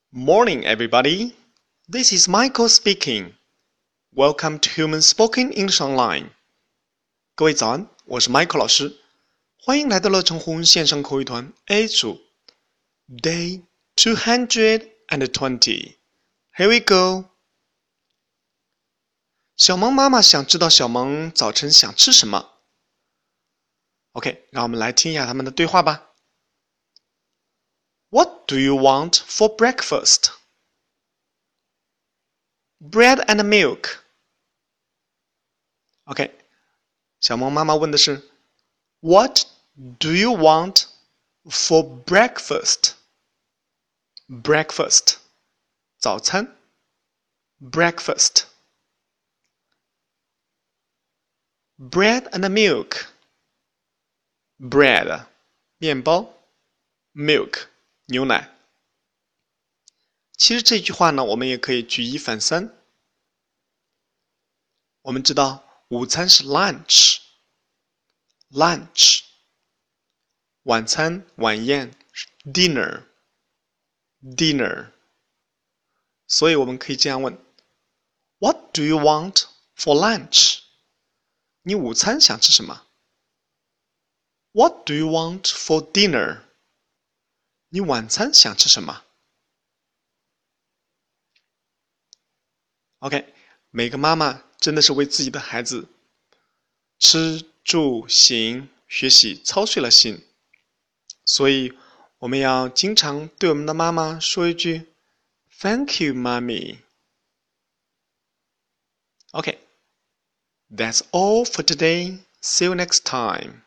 Morning, everybody. This is Michael speaking. Welcome to Human Spoken English Online. 各位早安，我是 Michael 老师，欢迎来到乐成湖线上口语团 A 组 Day 220. Here we go. 小萌妈妈想知道小萌早晨想吃什么。OK， 让我们来听一下他们的对话吧。What do you want for breakfast? Bread and milk. OK， 小萌妈妈问的是 What do you want for breakfast? Breakfast 早餐 Breakfast Bread and milk Bread 面包 Milk 牛奶。其实这句话呢，我们也可以举一反三。我们知道午餐是 lunch， 晚餐晚宴是 dinner， 所以我们可以这样问 What do you want for lunch? 你午餐想吃什么？ What do you want for dinner? 你晚餐想吃什么？ OK， 每个妈妈真的是为自己的孩子吃住行学习操碎了心，所以我们要经常对我们的妈妈说一句 Thank you, Mommy. Okay, that's all for today. See you next time.